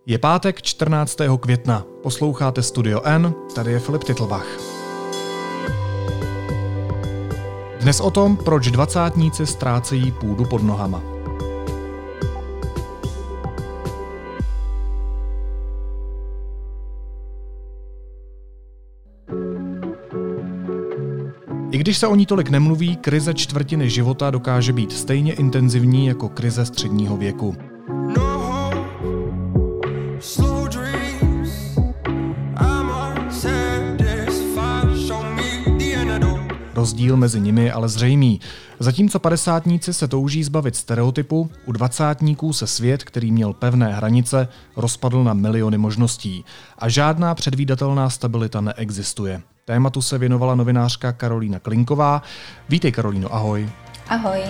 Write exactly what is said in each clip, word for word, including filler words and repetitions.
Je pátek čtrnáctého května. Posloucháte Studio N, tady je Filip Titlbach. Dnes o tom, proč dvacátníci ztrácejí půdu pod nohama. I když se o ní tolik nemluví, krize čtvrtiny života dokáže být stejně intenzivní jako krize středního věku. Rozdíl mezi nimi je ale zřejmý. Zatímco padesátníci se touží zbavit stereotypu, u dvacátníků se svět, který měl pevné hranice, rozpadl na miliony možností. A žádná předvídatelná stabilita neexistuje. Tématu se věnovala novinářka Karolína Klinková. Vítej, Karolíno, ahoj. Ahoj.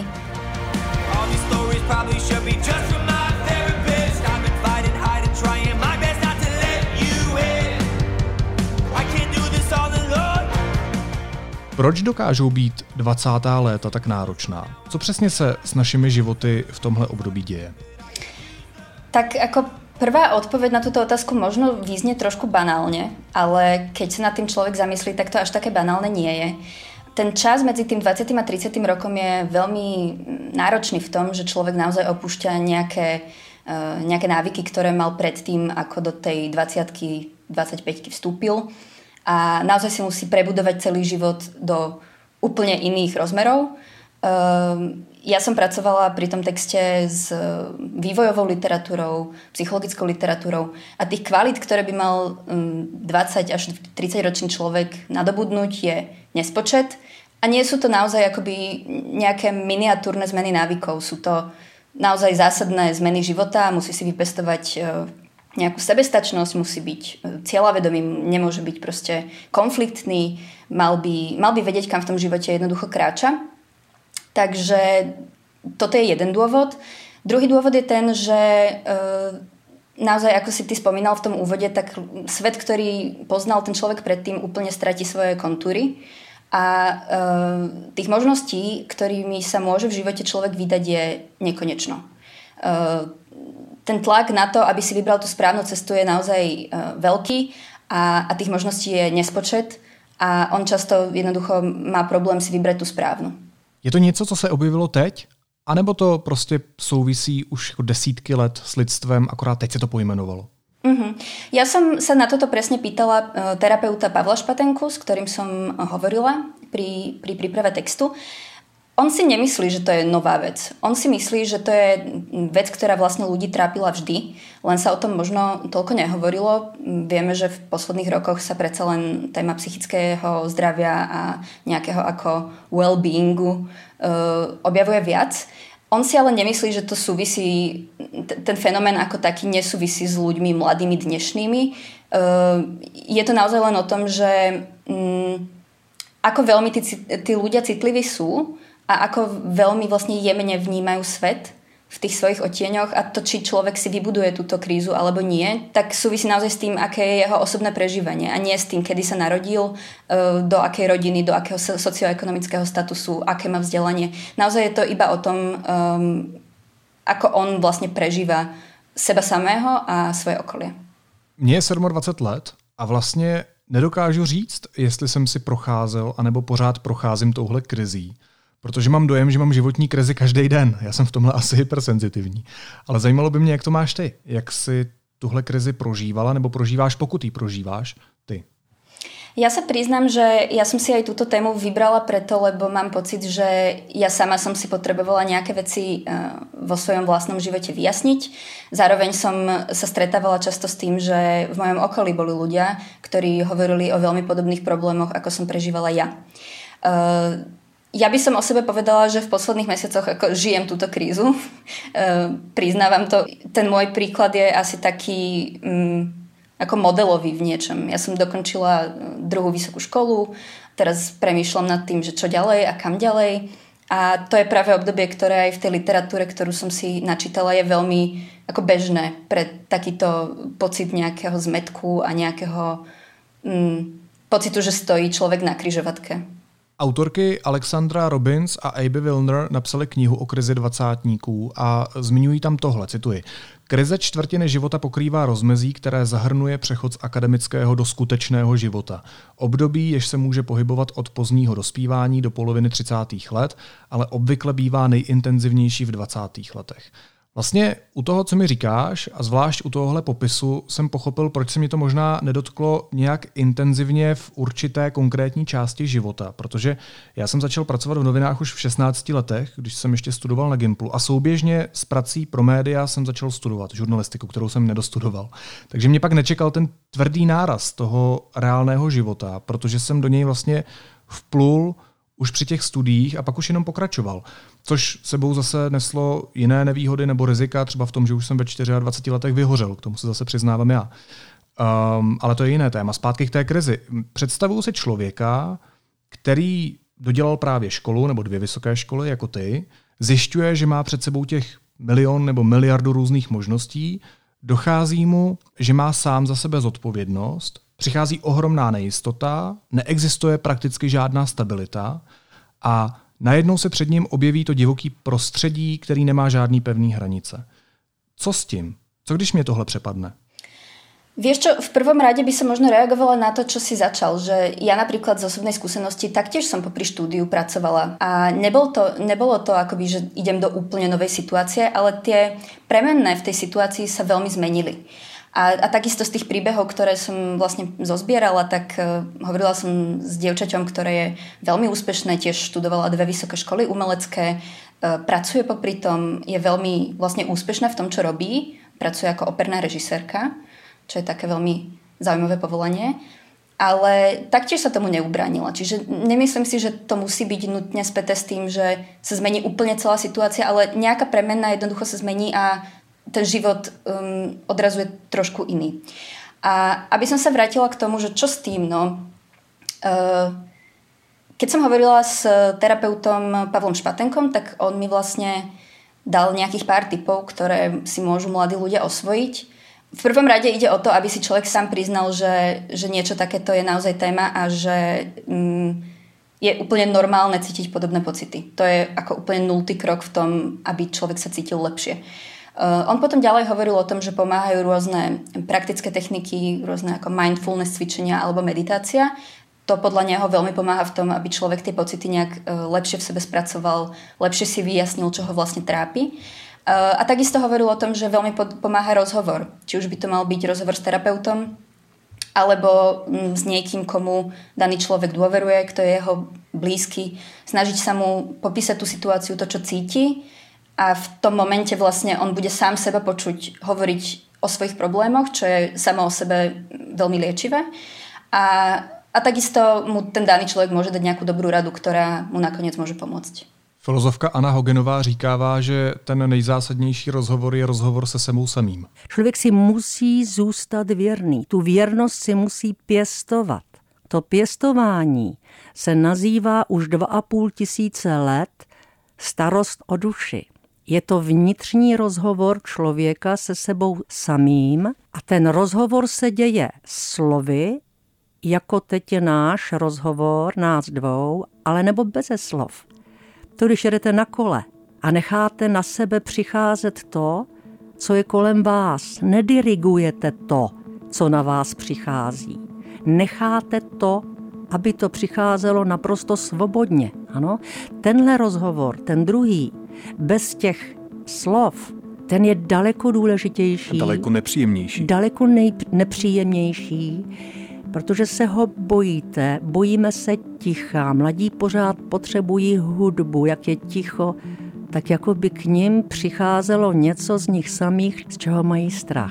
Proč dokážou být dvacátá léta tak náročná? Co přesně se s našimi životy v tomhle období děje? Tak ako prvá odpoveď na túto otázku možno vyznie trošku banálne, ale keď sa nad tým človek zamyslí, tak to až také banálne nie je. Ten čas medzi tým dvadsiatym a tridsiatym rokom je veľmi náročný v tom, že človek naozaj opúšťa nejaké, nejaké návyky, ktoré mal predtým, ako do tej dvadsiatky, dvadsaťpäťky vstúpil. A naozaj si musí prebudovať celý život do úplne iných rozmerov. Ja som pracovala pri tom texte s vývojovou literatúrou, psychologickou literatúrou a tých kvalít, ktoré by mal dvadsať až tridsaťročný človek nadobudnúť, je nespočet. A nie sú to naozaj akoby nejaké miniatúrne zmeny návykov. Sú to naozaj zásadné zmeny života. Musí si vypestovať nejakú sebestačnosť, musí byť cieľavedomý, nemôže byť proste konfliktný, mal by, mal by vedieť, kam v tom živote jednoducho kráča. Takže toto je jeden dôvod. Druhý dôvod je ten, že e, naozaj, ako si ty spomínal v tom úvode, tak svet, ktorý poznal ten človek predtým, úplne stratí svoje kontúry a e, tých možností, ktorými sa môže v živote človek vydať, je nekonečno. E, Ten tlak na to, aby si vybral tú správnu cestu, je naozaj uh, veľký a, a tých možností je nespočet a on často jednoducho má problém si vybrať tú správnu. Je to něco, co se objevilo teď? A nebo to prostě souvisí už jako desítky let s lidstvem, akorát teď se to pojmenovalo? Uh-huh. Ja som sa na toto presne pýtala uh, terapeuta Pavla Špatenku, s ktorým som hovorila pri, pri príprave textu. On si nemyslí, že to je nová vec. On si myslí, že to je vec, ktorá vlastne ľudí trápila vždy, len sa o tom možno toľko nehovorilo. Vieme, že v posledných rokoch sa predsa len téma psychického zdravia a nejakého ako well-beingu uh, objavuje viac. On si ale nemyslí, že to súvisí, t- ten fenomén ako taký nesúvisí s ľuďmi mladými dnešnými. Uh, je to naozaj len o tom, že um, ako veľmi tí, tí ľudia citliví sú, a ako veľmi vlastne jemne vnímajú svet v tých svojich odtieňoch a to, či človek si vybuduje túto krízu alebo nie, tak súvisí naozaj s tým, aké je jeho osobné prežívanie a nie s tým, kedy sa narodil, do akej rodiny, do akého socioekonomického statusu, aké má vzdelanie. Naozaj je to iba o tom, um, ako on vlastne prežíva seba samého a svoje okolie. Mně je dvacet sedm let a vlastně nedokážu říct, jestli jsem si procházel anebo pořád procházím touhle krizí. Protože mám dojem, že mám životní krizi každý den. Já jsem v tomhle asi hypersenzitivní. Ale zajímalo by mě, jak to máš ty. Jak jsi tuhle krizi prožívala nebo prožíváš, pokud ji prožíváš ty? Ja sa priznám, že ja som si aj túto tému vybrala preto, lebo mám pocit, že ja sama som si potrebovala nejaké veci vo svojom vlastnom živote vyjasniť. Zároveň som sa stretávala často s tým, že v mojom okolí boli ľudia, ktorí hovorili o veľmi podobných problémoch, ako som prežívala ja. Ja by som o sebe povedala, že v posledných mesiacoch ako žijem túto krízu. E, priznávam to. Ten môj príklad je asi taký um, ako modelový v niečom. Ja som dokončila druhú vysokú školu, teraz premýšľam nad tým, že čo ďalej a kam ďalej. A to je práve obdobie, ktoré aj v tej literatúre, ktorú som si načítala, je veľmi ako bežné pre takýto pocit nejakého zmätku a nejakého um, pocitu, že stojí človek na križovatke. Autorky Alexandra Robbins a Abby Wilner napsaly knihu o krizi dvacátníků a zmiňují tam tohle, cituji. Krize čtvrtiny života pokrývá rozmezí, které zahrnuje přechod z akademického do skutečného života. Období, jež se může pohybovat od pozdního dospívání do poloviny třicátých let, ale obvykle bývá nejintenzivnější v dvacátých letech. Vlastně u toho, co mi říkáš, a zvlášť u tohohle popisu, jsem pochopil, proč se mě to možná nedotklo nějak intenzivně v určité konkrétní části života, protože já jsem začal pracovat v novinách už v šestnácti letech, když jsem ještě studoval na Gimplu a souběžně s prací pro média jsem začal studovat žurnalistiku, kterou jsem nedostudoval. Takže mě pak nečekal ten tvrdý náraz toho reálného života, protože jsem do něj vlastně vplul už při těch studiích a pak už jenom pokračoval. Což sebou zase neslo jiné nevýhody nebo rizika, třeba v tom, že už jsem ve dvaceti čtyřech letech vyhořel, k tomu se zase přiznávám já. Um, ale to je jiné téma. Zpátky k té krizi. Představuju si člověka, který dodělal právě školu nebo dvě vysoké školy jako ty, zjišťuje, že má před sebou těch milion nebo miliardu různých možností, dochází mu, že má sám za sebe zodpovědnost, přichází ohromná nejistota, neexistuje prakticky žádná stabilita a najednou se před ním objeví to divoký prostředí, který nemá žádný pevný hranice. Co s tím? Co když mě tohle přepadne? Vieš čo, v prvom rade by som možno reagovala na to, čo si začal, že ja napríklad z osobnej skúsenosti taktiež som popri štúdiu pracovala a nebol to, nebolo to akoby, že idem do úplne novej situácie, ale tie premenné v tej situácii sa veľmi zmenili. A, a takisto z tých príbehov, ktoré som vlastne zozbierala, tak uh, hovorila som s dievčaťom, ktoré je veľmi úspešné, tiež študovala dve vysoké školy umelecké, uh, pracuje popri tom, je veľmi vlastne úspešná v tom, čo robí, pracuje ako operná režisérka, čo je také veľmi zaujímavé povolanie, ale taktiež sa tomu neubránila. Čiže nemyslím si, že to musí byť nutne späté s tým, že sa zmení úplne celá situácia, ale nejaká premenná jednoducho sa zmení a ten život um, odrazuje trošku iný. A aby som sa vrátila k tomu, že čo s tým, no... Uh, keď som hovorila s terapeutom Pavlom Špatenkom, tak on mi vlastne dal nejakých pár tipov, ktoré si môžu mladí ľudia osvojiť. V prvom rade ide o to, aby si človek sám priznal, že, že niečo takéto je naozaj téma a že mm, je úplne normálne cítiť podobné pocity. To je ako úplne nultý krok v tom, aby človek sa cítil lepšie. Uh, on potom ďalej hovoril o tom, že pomáhajú rôzne praktické techniky, rôzne ako mindfulness cvičenia alebo meditácia. To podľa neho veľmi pomáha v tom, aby človek tie pocity nejak uh, lepšie v sebe spracoval, lepšie si vyjasnil, čo ho vlastne trápi. A takisto hovoril o tom, že veľmi pomáha rozhovor. Či už by to mal byť rozhovor s terapeutom, alebo s niekým, komu daný človek dôveruje, kto je jeho blízky. Snažiť sa mu popísať tú situáciu, to, čo cíti. A v tom momente vlastne on bude sám seba počuť hovoriť o svojich problémoch, čo je samo o sebe veľmi liečivé. A, a takisto mu ten daný človek môže dať nejakú dobrú radu, ktorá mu nakoniec môže pomôcť. Filozofka Anna Hogenová říkává, že ten nejzásadnější rozhovor je rozhovor se sebou samým. Člověk si musí zůstat věrný. Tu věrnost si musí pěstovat. To pěstování se nazývá už dva a půl tisíce let starost o duši. Je to vnitřní rozhovor člověka se sebou samým a ten rozhovor se děje slovy, jako teď je náš rozhovor, nás dvou, ale nebo beze slov. To, když jedete na kole a necháte na sebe přicházet to, co je kolem vás. Nedirigujete to, co na vás přichází. Necháte to, aby to přicházelo naprosto svobodně. Ano? Tenhle rozhovor, ten druhý, bez těch slov, ten je daleko důležitější. Daleko nepříjemnější. Daleko nej- nepříjemnější. Protože se ho bojíte, bojíme se ticha. Mladí pořád potřebují hudbu, jak je ticho, tak jako by k nim přicházelo něco z nich samých, z čeho mají strach.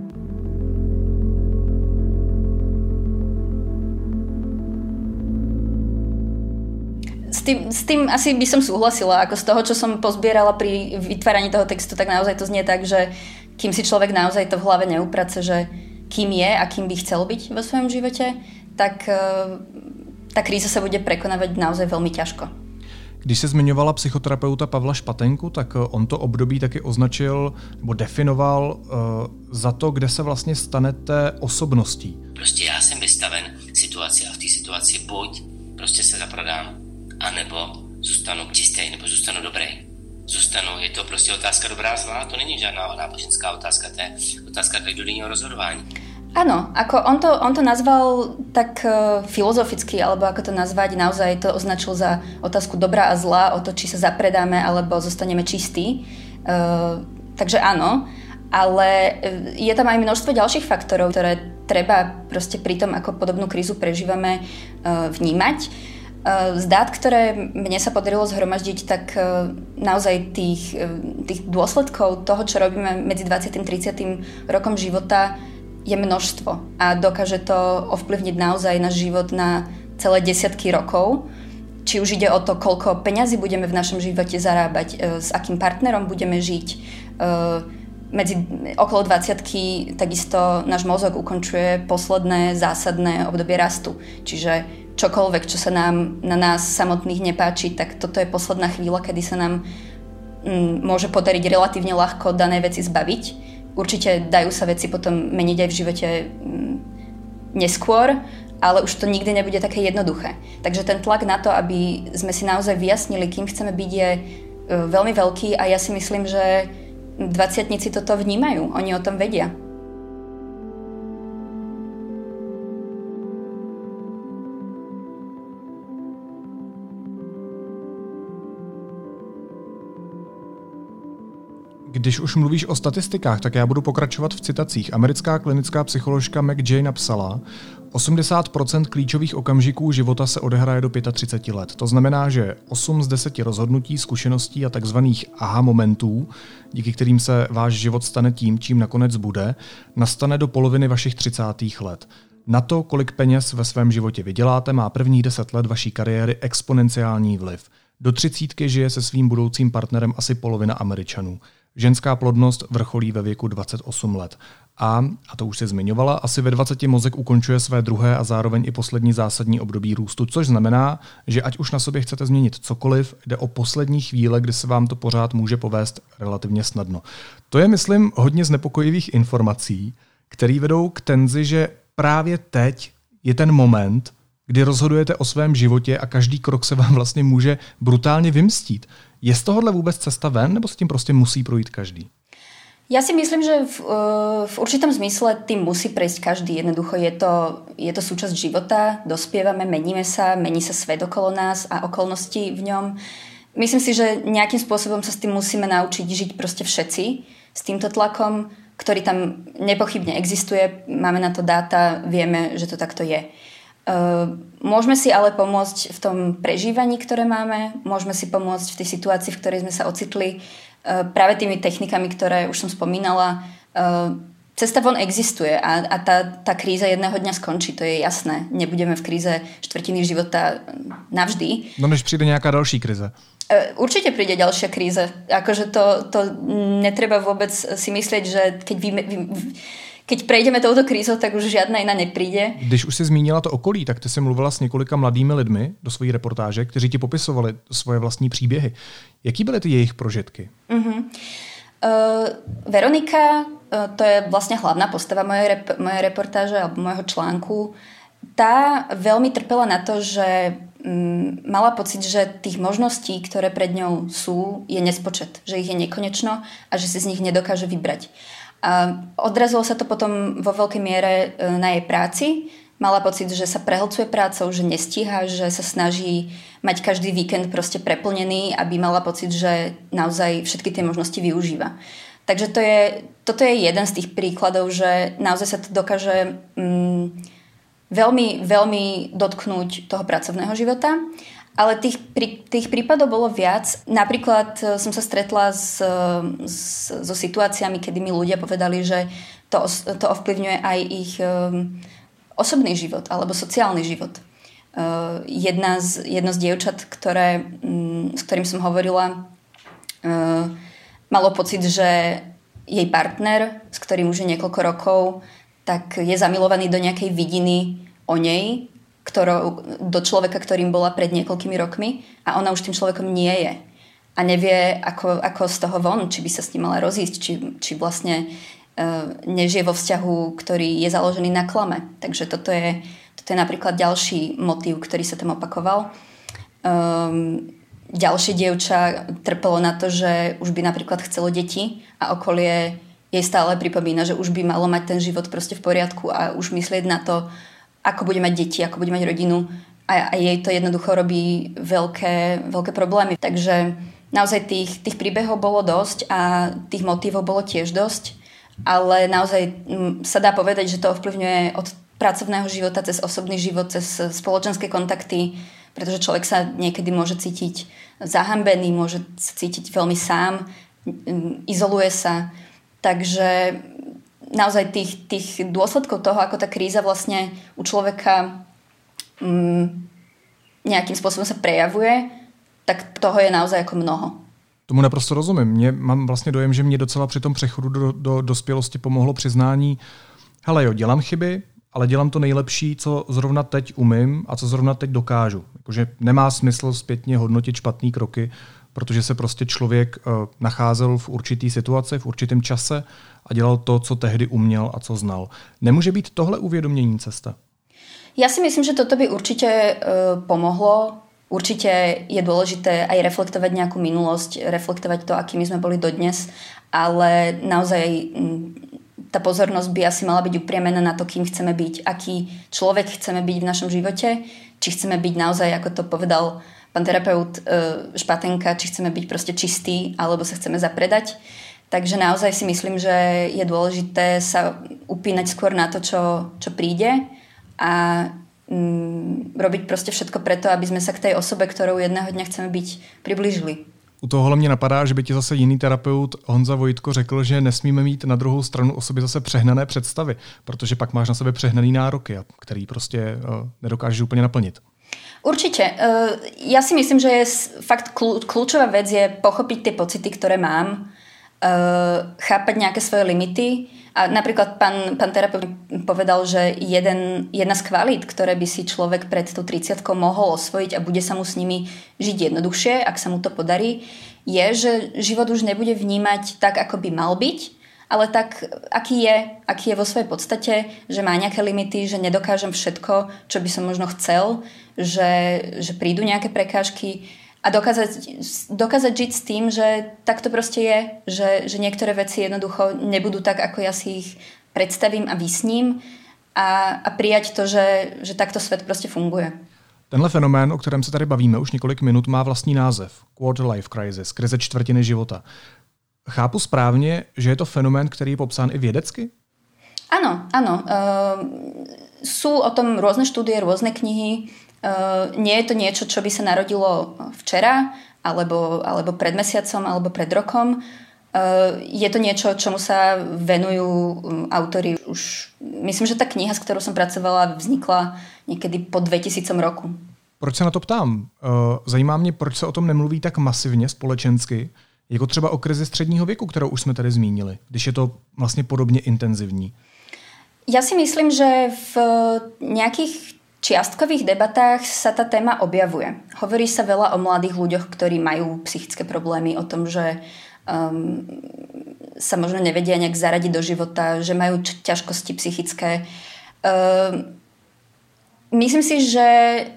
S tým, s tým asi by som súhlasila, ako z toho, čo som pozbierala pri vytváraní toho textu, tak naozaj to znie tak, že kým si človek naozaj to v hlave neuprace, že kým je a kým by chcel byť vo svojom živote, tak tá kríza sa bude prekonávať naozaj veľmi ťažko. Když se zmiňovala psychoterapeuta Pavla Špatenku, tak on to období taky označil nebo definoval uh, za to, kde se vlastně stanete osobností. Prostě já jsem vystaven situaci a v té situaci buď prostě se zaprodám anebo zůstanu čistý, nebo zůstanu dobrý. Zůstanu, je to prostě otázka dobrá zlá, to není žádná náboženská otázka, to je otázka každodenního rozhodování. Áno, ako on to, on to nazval tak uh, filozoficky, alebo ako to nazvať, naozaj to označil za otázku dobrá a zlá, o to, či sa zapredáme, alebo zostaneme čistí. Uh, takže áno, ale je tam aj množstvo ďalších faktorov, ktoré treba proste pri tom, ako podobnú krízu prežívame, uh, vnímať. Uh, z dát, ktoré mne sa podarilo zhromaždiť, tak uh, naozaj tých, uh, tých dôsledkov toho, čo robíme medzi dvadsiatym a tridsiatym rokom života, je množstvo a dokáže to ovplyvniť naozaj náš život na celé desiatky rokov. Či už ide o to, koľko peňazí budeme v našom živote zarábať, s akým partnerom budeme žiť. Medzi okolo dvadsiatky takisto náš mozog ukončuje posledné zásadné obdobie rastu. Čiže čokoľvek, čo sa nám na nás samotných nepáči, tak toto je posledná chvíľa, kedy sa nám mm, môže podariť relatívne ľahko dané veci zbaviť. Určite dajú sa veci potom meniť aj v živote neskôr, ale už to nikdy nebude také jednoduché. Takže ten tlak na to, aby sme si naozaj vyjasnili, kým chceme byť, je veľmi veľký a ja si myslím, že dvadsiatnici toto vnímajú, oni o tom vedia. Když už mluvíš o statistikách, tak já budu pokračovat v citacích. Americká klinická psycholožka McJay napsala, osmdesát procent klíčových okamžiků života se odehraje do třicet pět let. To znamená, že osm z deseti rozhodnutí, zkušeností a takzvaných aha momentů, díky kterým se váš život stane tím, čím nakonec bude, nastane do poloviny vašich třicátých let. Na to, kolik peněz ve svém životě vyděláte, má prvních deset let vaší kariéry exponenciální vliv. Do třicítky žije se svým budoucím partnerem asi polovina Američanů. Ženská plodnost vrcholí ve věku dvacet osm let. A, a to už se zmiňovala, asi ve dvaceti mozek ukončuje své druhé a zároveň i poslední zásadní období růstu, což znamená, že ať už na sobě chcete změnit cokoliv, jde o poslední chvíle, kdy se vám to pořád může povést relativně snadno. To je, myslím, hodně znepokojivých informací, které vedou k tenzi, že právě teď je ten moment, kdy rozhodujete o svém životě a každý krok se vám vlastně může brutálně vymstít. Je z tohohle vůbec cesta ven, nebo s tím prostě musí projít každý? Ja si myslím, že v, v určitom zmysle tým musí prejsť každý. Jednoducho je to, je to súčasť života, dospievame, meníme sa, mení sa svet okolo nás a okolnosti v ňom. Myslím si, že nejakým spôsobom sa s tým musíme naučiť žiť proste všetci, s týmto tlakom, ktorý tam nepochybne existuje. Máme na to dáta, vieme, že to takto je. Môžeme si ale pomôcť v tom prežívaní, ktoré máme, môžeme si pomôcť v tej situácii, v ktorej sme sa ocitli práve tými technikami, ktoré už som spomínala. Cesta von existuje a, a tá, tá kríza jedného dňa skončí, to je jasné. Nebudeme v kríze štvrtiny života navždy. No než přijde nejaká další krize. Určite príde ďalšia kríza. Akože to, to netreba vôbec si myslieť, že keď vy, vy Keď prejdeme touto krízou, tak už žádná jiná nepríde. Když už jsi zmínila to okolí, tak ty jsi mluvila s několika mladými lidmi do své reportáže, kteří ti popisovali svoje vlastní příběhy. Jaký byly ty jejich prožitky? Uh-huh. Uh, Veronika, uh, to je vlastně hlavná postava mojej, rep- mojej reportáže alebo mojho článku, tá veľmi trpela na to, že um, mala pocit, že tých možností, ktoré pred ňou sú, je nespočet. Že ich je nekonečno a že si z nich nedokáže vybrať. A odrazilo sa to potom vo veľkej miere na jej práci. Mala pocit, že sa prehlcuje prácou, že nestíha, že sa snaží mať každý víkend proste preplnený, aby mala pocit, že naozaj všetky tie možnosti využíva. Takže to je, toto je jeden z tých príkladov, že naozaj sa to dokáže mm, veľmi, veľmi dotknúť toho pracovného života. Ale tých, prí, tých prípadov bolo viac. Napríklad som sa stretla s, s, so situáciami, kedy mi ľudia povedali, že to, to ovplyvňuje aj ich um, osobný život alebo sociálny život. Uh, jedna z, jedno z dievčat, ktoré, um, s ktorým som hovorila, uh, malo pocit, že jej partner, s ktorým už je niekoľko rokov, tak je zamilovaný do nejakej vidiny o nej, Ktorou, do človeka, ktorým bola pred niekoľkými rokmi a ona už tým človekom nie je. A nevie, ako, ako z toho von, či by sa s ním mala rozísť, či, či vlastne uh, nežije vo vzťahu, ktorý je založený na klame. Takže toto je, toto je napríklad ďalší motív, ktorý sa tam opakoval. Um, ďalšie dievča trpelo na to, že už by napríklad chcelo deti a okolie jej stále pripomína, že už by malo mať ten život proste v poriadku a už myslieť na to, ako bude mať deti, ako bude mať rodinu a, a jej to jednoducho robí veľké, veľké problémy. Takže naozaj tých, tých príbehov bolo dosť a tých motívov bolo tiež dosť, ale naozaj m, sa dá povedať, že to ovplyvňuje od pracovného života cez osobný život, cez spoločenské kontakty, pretože človek sa niekedy môže cítiť zahambený, môže sa cítiť veľmi sám, izoluje sa. Takže naozaj tých, tých dôsledkov toho, ako tá kríza vlastne u človeka um, nejakým spôsobom sa prejavuje, tak toho je naozaj ako mnoho. Tomu naprosto rozumím. Mě, mám vlastně dojem, že mě docela při tom přechodu do, do dospělosti pomohlo přiznání, hele jo, dělám chyby, ale dělám to nejlepší, co zrovna teď umím a co zrovna teď dokážu. Jakože nemá smysl zpětně hodnotit špatný kroky, protože se prostě člověk uh, nacházel v určitý situaci, v určitém čase a dělal to, co tehdy uměl a co znal. Nemůže být tohle uvědomění cesta? Ja si myslím, že toto by určite uh, pomohlo. Určite je dôležité aj reflektovať nejakú minulosť, reflektovať to, akými sme boli dodnes, ale naozaj m, tá pozornosť by asi mala byť upriamená na to, kým chceme byť, aký človek chceme byť v našom živote, či chceme byť naozaj, ako to povedal pán terapeut Špatenka, či chceme byť proste čistý, alebo sa chceme zapredať. Takže naozaj si myslím, že je dôležité sa upínať skôr na to, čo, čo príde a mm, robiť proste všetko preto, aby sme sa k tej osobe, ktorou jedného dňa chceme byť, priblížili. U tohohle mě napadá, že by ti zase jiný terapeut Honza Vojtko řekl, že nesmíme mít na druhou stranu o sobě zase přehnané představy, protože pak máš na sebe přehnaný nároky, který prostě uh, nedokážeš úplně naplnit. Určite. Ja si myslím, že je fakt kľúčová vec je pochopiť tie pocity, ktoré mám, chápať nejaké svoje limity. A napríklad pán, pán terapeut povedal, že jeden, jedna z kvalít, ktoré by si človek pred tú tridsiatkou mohol osvojiť a bude sa mu s nimi žiť jednoduchšie, ak sa mu to podarí, je, že život už nebude vnímať tak, ako by mal byť, ale tak, aký je, aký je vo svojej podstate, že má nejaké limity, že nedokážem všetko, čo by som možno chcel, že, že prídu nejaké prekážky a dokázať, dokázať žiť s tým, že tak to proste je, že, že niektoré veci jednoducho nebudú tak, ako ja si ich predstavím a vysním a, a prijať to, že, že takto svet proste funguje. Tenhle fenomén, o kterém se tady bavíme už několik minut, má vlastní název. Quarter life crisis, krize čtvrtiny života. Chápu správně, že je to fenomén, který je popsán i vědecky? Áno, áno. Uh, sú o tom rôzne štúdie, rôzne knihy. Uh, nie je to niečo, čo by sa narodilo včera, alebo, alebo pred mesiacom, alebo pred rokom. Uh, je to niečo, čomu sa venujú autori už... Myslím, že tá kniha, s ktorou som pracovala, vznikla niekedy po dvetisícom roku. Proč se na to ptám? Uh, zajímá mě, proč se o tom nemluví tak masivně společensky, jako třeba o krizi středního věku, kterou už jsme tady zmínili, když je to vlastně podobně intenzivní. Ja si myslím, že v nejakých čiastkových debatách sa tá téma objavuje. Hovorí sa veľa o mladých ľuďoch, ktorí majú psychické problémy, o tom, že um, sa možno nevedia nejak zaradiť do života, že majú ťažkosti psychické. Um, myslím si, že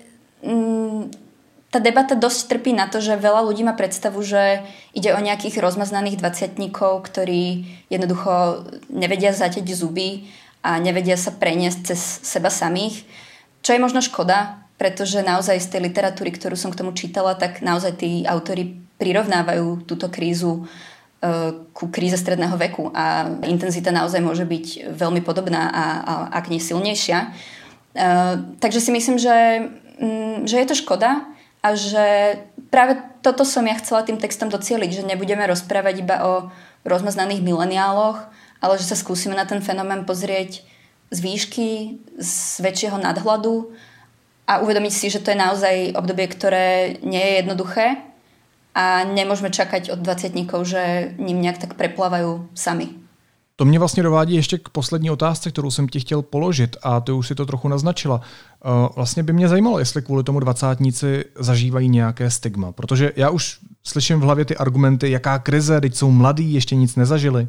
um, tá debata dosť trpí na to, že veľa ľudí má predstavu, že ide o nejakých rozmaznaných dvadsiatnikov, ktorí jednoducho nevedia zaťať zuby a nevedia sa preniesť cez seba samých. Čo je možno škoda, pretože naozaj z tej literatúry, ktorú som k tomu čítala, tak naozaj tí autori prirovnávajú túto krízu uh, ku kríze stredného veku a intenzita naozaj môže byť veľmi podobná a, a ak nie silnejšia. Uh, takže si myslím, že, um, že je to škoda a že práve toto som ja chcela tým textom docieliť, že nebudeme rozprávať iba o rozmaznaných mileniáloch, ale že sa skúsime na ten fenomén pozrieť z výšky, z väčšieho nadhľadu a uvedomiť si, že to je naozaj obdobie, ktoré nie je jednoduché a nemôžeme čakať od dvadsiatnikov, že ním nejak tak preplávajú sami. To mě vlastně dovádí ještě k poslední otázce, kterou jsem ti chtěl položit a ty už si to trochu naznačila. Vlastně by mě zajímalo, jestli kvůli tomu dvacátníci zažívají nějaké stigma, protože já už slyším v hlavě ty argumenty, jaká krize, teď jsou mladí, ještě nic nezažili.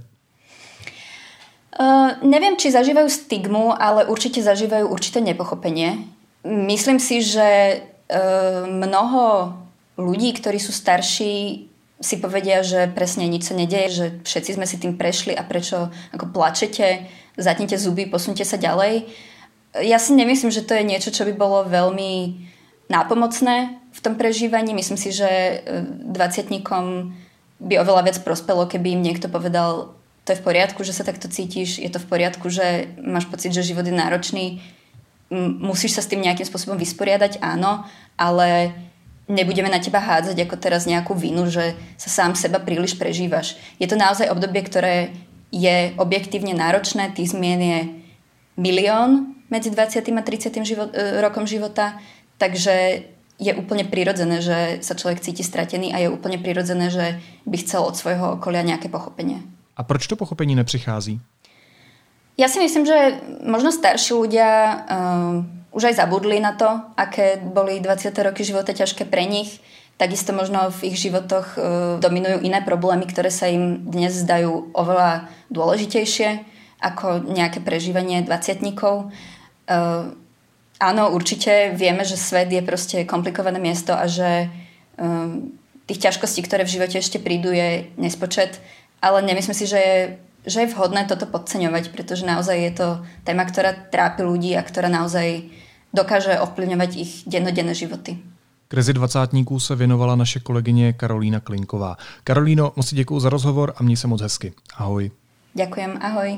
Uh, neviem, či zažívajú stigmu, ale určite zažívajú určité nepochopenie. Myslím si, že mnoho ľudí, ktorí sú starší, si povedia, že presne nič sa nedeje, že všetci sme si tým prešli a prečo ako plačete, zatnite zuby, posunte sa ďalej. Ja si nemyslím, že to je niečo, čo by bolo veľmi nápomocné v tom prežívaní. Myslím si, že dvadsiatnikom by oveľa viac prospelo, keby im niekto povedal, to je v poriadku, že sa takto cítiš, je to v poriadku, že máš pocit, že život je náročný, musíš sa s tým nejakým spôsobom vysporiadať, áno, ale nebudeme na teba hádzať ako teraz nejakú vinu, že sa sám seba príliš prežívaš. Je to naozaj obdobie, ktoré je objektívne náročné, tých zmien je milión medzi dvadsiatym a tridsiatym život, rokom života, takže je úplne prirodzené, že sa človek cíti stratený a je úplne prirodzené, že by chcel od svojho okolia nejaké pochopenie. A proč to pochopení nepřichází? Ja si myslím, že možno starší ľudia uh, už aj zabudli na to, aké boli dvadsiate roky života ťažké pre nich. Takisto možno v ich životoch uh, dominujú iné problémy, ktoré sa im dnes zdajú oveľa dôležitejšie ako nejaké prežívanie dvadsiatnikov. Uh, áno, určite vieme, že svet je proste komplikované miesto a že uh, tých ťažkostí, ktoré v živote ešte prídu, je nespočet. Ale nemyslím si, že je že je vhodné toto podceňovať, pretože naozaj je to téma, ktorá trápi ľudí a ktorá naozaj dokáže ovplyvňovať ich dennodenné životy. Krizi dvacátníků se věnovala naše kolegyně Karolína Klinková. Karolíno, moc děkuju za rozhovor a měj se moc hezky. Ahoj. Ďakujem, ahoj.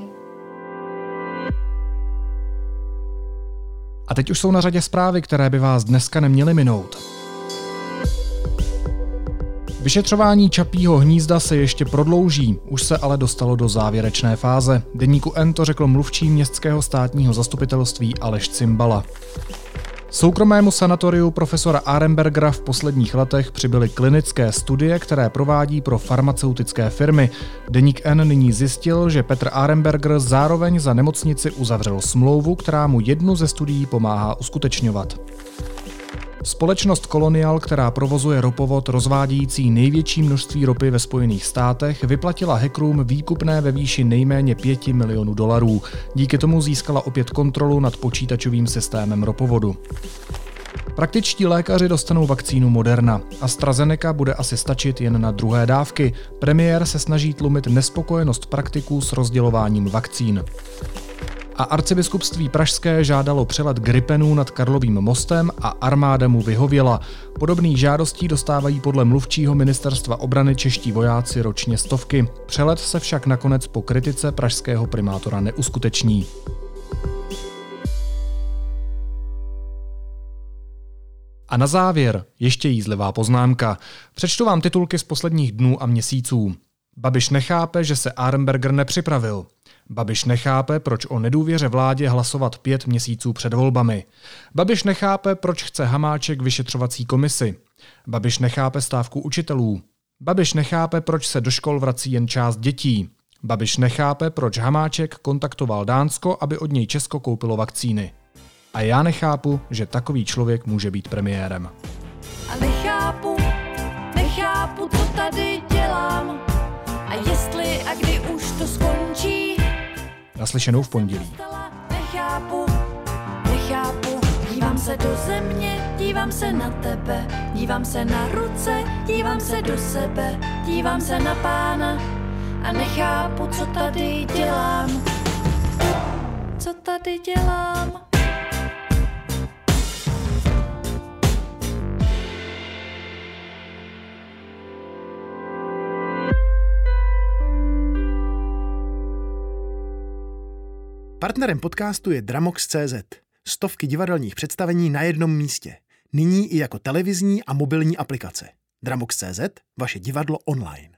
A teď už jsou na řadě zprávy, které by vás dneska neměly minout. Vyšetřování Čapího hnízda se ještě prodlouží, už se ale dostalo do závěrečné fáze. Deníku N to řekl mluvčí městského státního zastupitelství Aleš Cimbala. Soukromému sanatoriu profesora Arenbergera v posledních letech přibyly klinické studie, které provádí pro farmaceutické firmy. Deník N nyní zjistil, že Petr Arenberger zároveň za nemocnici uzavřel smlouvu, která mu jednu ze studií pomáhá uskutečňovat. Společnost Colonial, která provozuje ropovod rozvádějící největší množství ropy ve Spojených státech, vyplatila hackerům výkupné ve výši nejméně pěti milionů dolarů. Díky tomu získala opět kontrolu nad počítačovým systémem ropovodu. Praktičtí lékaři dostanou vakcínu Moderna. AstraZeneca bude asi stačit jen na druhé dávky. Premiér se snaží tlumit nespokojenost praktiků s rozdělováním vakcín. A arcibiskupství pražské žádalo přelet Gripenů nad Karlovým mostem a armáda mu vyhověla. Podobných žádostí dostávají podle mluvčího ministerstva obrany čeští vojáci ročně stovky. Přelet se však nakonec po kritice pražského primátora neuskuteční. A na závěr ještě jízlivá poznámka. Přečtu vám titulky z posledních dnů a měsíců. Babiš nechápe, že se Arenberger nepřipravil. Babiš nechápe, proč o nedůvěře vládě hlasovat pět měsíců před volbami. Babiš nechápe, proč chce Hamáček vyšetřovací komisi. Babiš nechápe stávku učitelů. Babiš nechápe, proč se do škol vrací jen část dětí. Babiš nechápe, proč Hamáček kontaktoval Dánsko, aby od něj Česko koupilo vakcíny. A já nechápu, že takový člověk může být premiérem. A nechápu, nechápu, co tady dělám. A jestli a kdy už to skončí. Naslyšenou v pondělí. Nechápu, nechápu, dívám se do země, dívám se na tebe, dívám se na ruce, dívám se do sebe, dívám se na Pána a nechápu, co tady dělám. Co tady dělám? Partnerem podcastu je Dramox tečka cé zet. Stovky divadelních představení na jednom místě. Nyní i jako televizní a mobilní aplikace. Dramox tečka cé zet, vaše divadlo online.